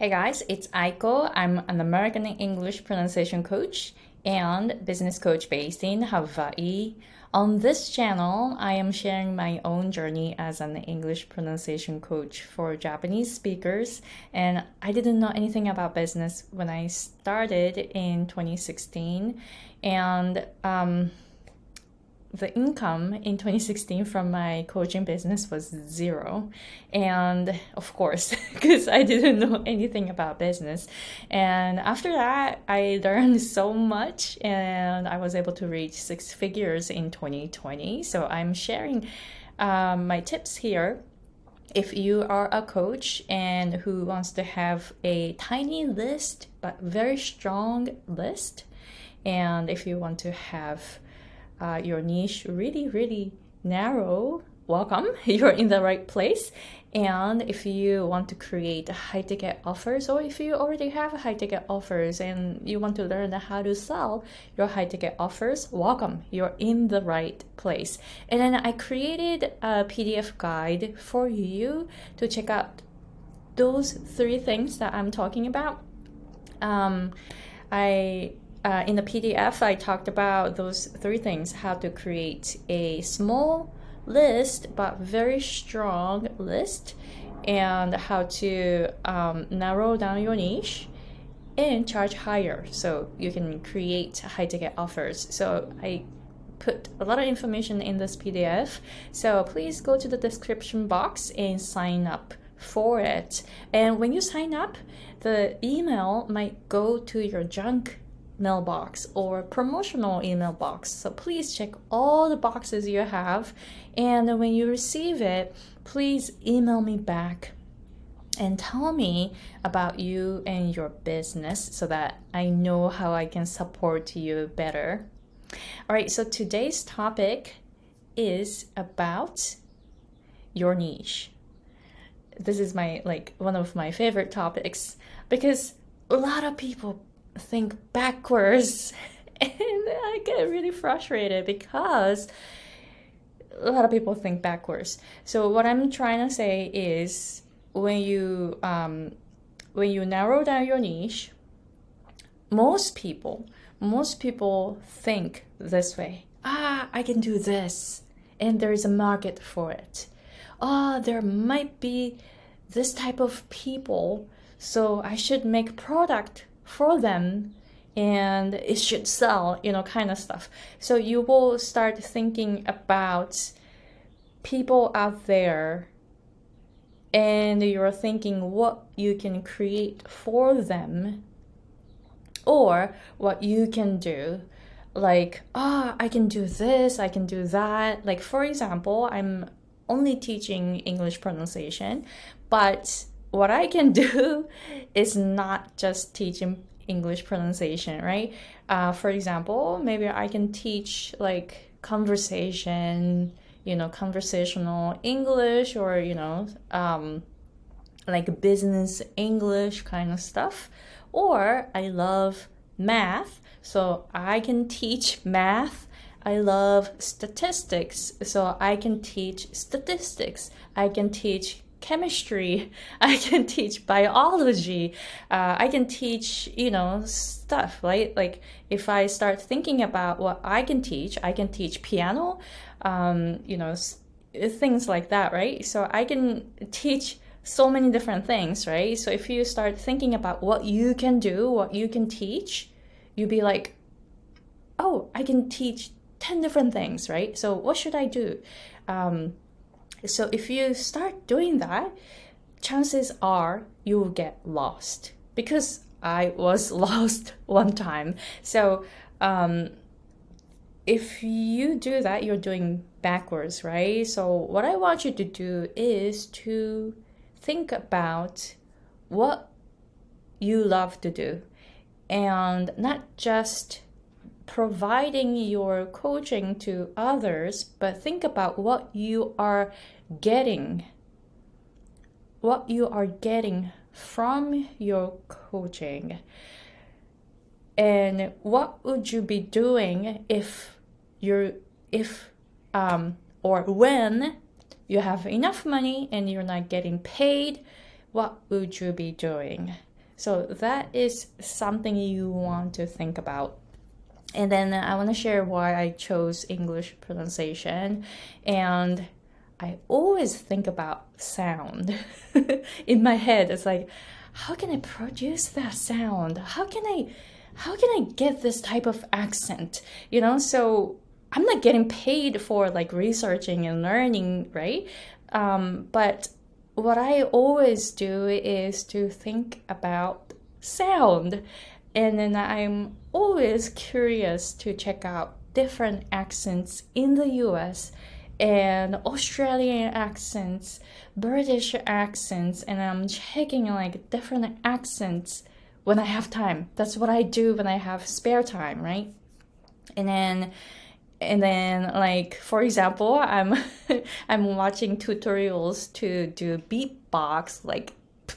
Hey guys, it's Aiko. I'm an American English pronunciation coach and business coach based in Hawaii. On this channel, I am sharing my own journey as an English pronunciation coach for Japanese speakers. And I didn't know anything about business when I started in 2016. And the income in 2016 from my coaching business was zero. And of course, because I didn't know anything about business. And after that, I learned so much and I was able to reach six figures in 2020. So I'm sharing my tips here. If you are a coach and who wants to have a tiny list, but very strong list, and if you want to have your niche really narrow, welcome. You're in the right place. And if you want to create high ticket offers, or if you already have high ticket offers and you want to learn how to sell your high ticket offers, welcome. You're in the right place. And then I created a PDF guide for you to check out those three things that I'm talking about. In the PDF, I talked about those three things: how to create a small list but very strong list, and how to narrow down your niche and charge higher so you can create high ticket offers. So I put a lot of information in this PDF, so please go to the description box and sign up for it. And when you sign up, the email might go to your junk mailbox or promotional email box. So please check all the boxes you have. And when you receive it, please email me back and tell me about you and your business so that I know how I can support you better. All right, so today's topic is about your niche. This is one of my favorite topics because a lot of people think backwards and I get really frustrated because a lot of people think backwards. So what I'm trying to say is when you narrow down your niche, most people think this way: I can do this and there is a market for it. There might be this type of people, so I should make product for them and it should sell, kind of stuff. So you will start thinking about people out there and you're thinking what you can create for them or what you can do. Like, I can do this, I can do that. Like, for example, I'm only teaching English pronunciation, but what I can do is not just teaching English pronunciation, right? For example, maybe I can teach like conversational English, or like business English kind of stuff. Or I love math, so I can teach math. I love statistics, so I can teach statistics. I can teach chemistry. I can teach biology. I can teach, stuff, right? Like if I start thinking about what I can teach piano, things like that, right? So I can teach so many different things, right? So if you start thinking about what you can do, what you can teach, you'll be like, oh, I can teach 10 different things, right? So what should I do? So if you start doing that, chances are you will get lost, because I was lost one time. So if you do that, you're doing backwards, right? So what I want you to do is to think about what you love to do, and not just providing your coaching to others, but think about what you are getting from your coaching, and what would you be doing if or when you have enough money and you're not getting paid, what would you be doing? So that is something you want to think about. And then I want to share why I chose English pronunciation. And I always think about sound in my head. It's like, how can I produce that sound? How can I get this type of accent? So I'm not getting paid for like researching and learning, right? But what I always do is to think about sound. And then I'm always curious to check out different accents in the US and Australian accents, British accents, and I'm checking like different accents when I have time. That's what I do when I have spare time, right? And then like for example, I'm I'm watching tutorials to do beatbox, like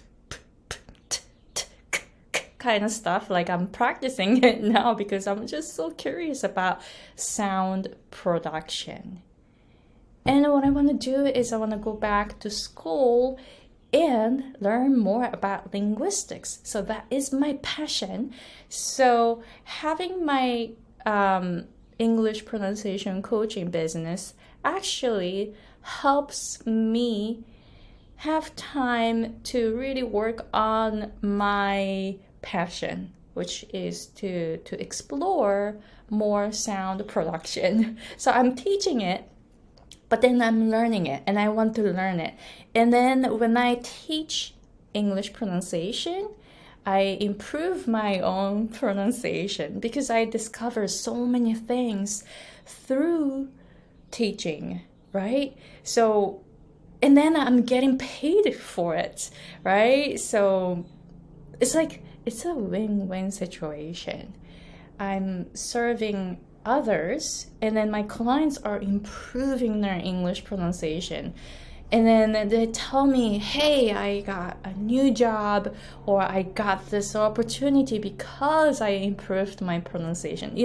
kind of stuff. Like I'm practicing it now because I'm just so curious about sound production. And what I want to do is I want to go back to school and learn more about linguistics. So that is my passion. So having my English pronunciation coaching business actually helps me have time to really work on my passion, which is to explore more sound production. So I'm teaching it, but then I'm learning it and I want to learn it. And then when I teach English pronunciation, I improve my own pronunciation because I discover so many things through teaching, right? So, and then I'm getting paid for it, right? So it's like, it's a win-win situation. I'm serving others, and then my clients are improving their English pronunciation. And then they tell me, hey, I got a new job, or I got this opportunity because I improved my pronunciation.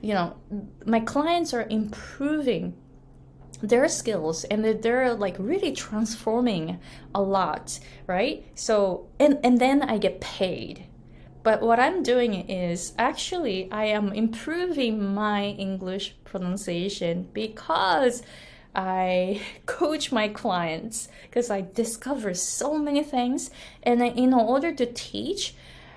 My clients are improving their skills and they're like really transforming a lot, right? So, and then I get paid. But what I'm doing is actually I am improving my English pronunciation because I coach my clients, because I discover so many things. And in order to teach,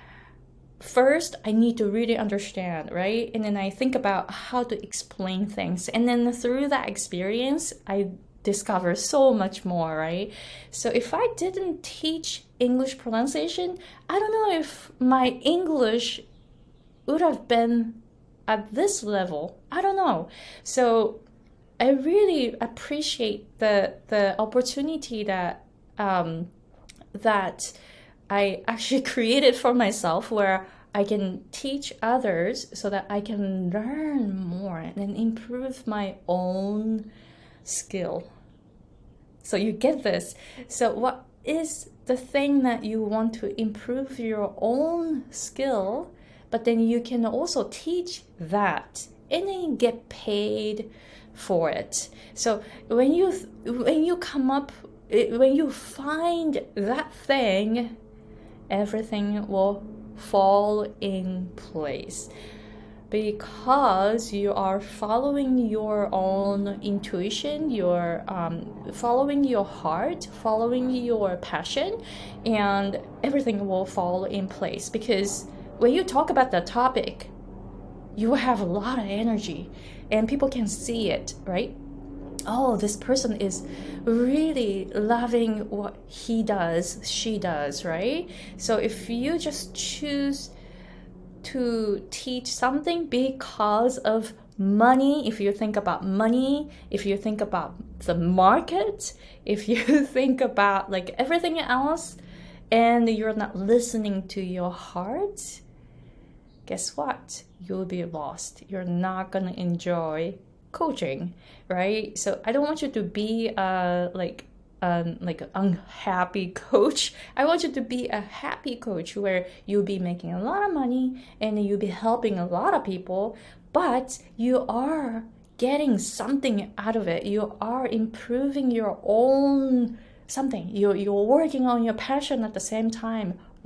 first I need to really understand, right? And then I think about how to explain things. And then through that experience, I discover so much more, right? So if I didn't teach English pronunciation, I don't know if my English would have been at this level. I don't know. So I really appreciate the opportunity that that I actually created for myself, where I can teach others so that I can learn more and improve my own skill. So you get this. So what is the thing that you want to improve your own skill, but then you can also teach that and then you get paid for it. So when you find that thing, everything will fall in place, because you are following your own intuition, you're following your heart, following your passion, and everything will fall in place. Because when you talk about the topic, you have a lot of energy and people can see it, right? Oh, this person is really loving what he does, she does, right? So if you just choose to teach something because of money, if you think about money, if you think about the market, if you think about like everything else, and you're not listening to your heart, guess what? You'll be lost. You're not gonna enjoy coaching, right? So I don't want you to be like an unhappy coach. I want you to be a happy coach, where you'll be making a lot of money and you'll be helping a lot of people, but you are getting something out of it. You are improving your own something. You're working on your passion at the same time. What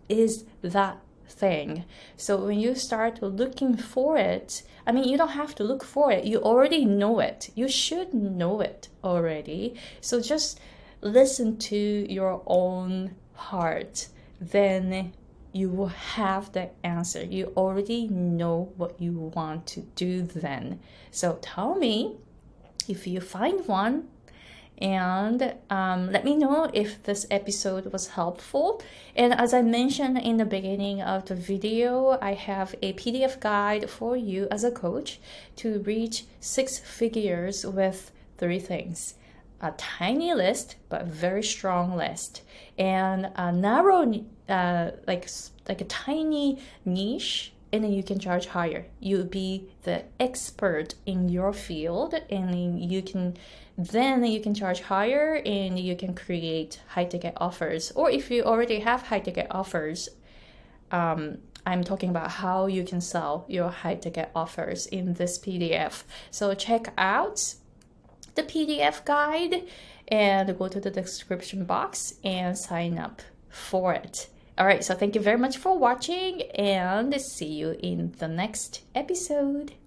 is that thing. So when you start looking for it, I mean, you don't have to look for it. You already know it. You should know it already. So just listen to your own heart. Then you will have the answer. You already know what you want to do then. So tell me if you find one, and let me know if this episode was helpful. And as I mentioned in the beginning of the video, I have a PDF guide for you as a coach to reach 6 figures with 3 things. A tiny list, but very strong list, and a narrow, like a tiny niche, and then you can charge higher. You'll be the expert in your field, and you can charge higher, and you can create high-ticket offers. Or if you already have high-ticket offers, I'm talking about how you can sell your high-ticket offers in this PDF. So check out the PDF guide and go to the description box and sign up for it. All right, so thank you very much for watching, and see you in the next episode.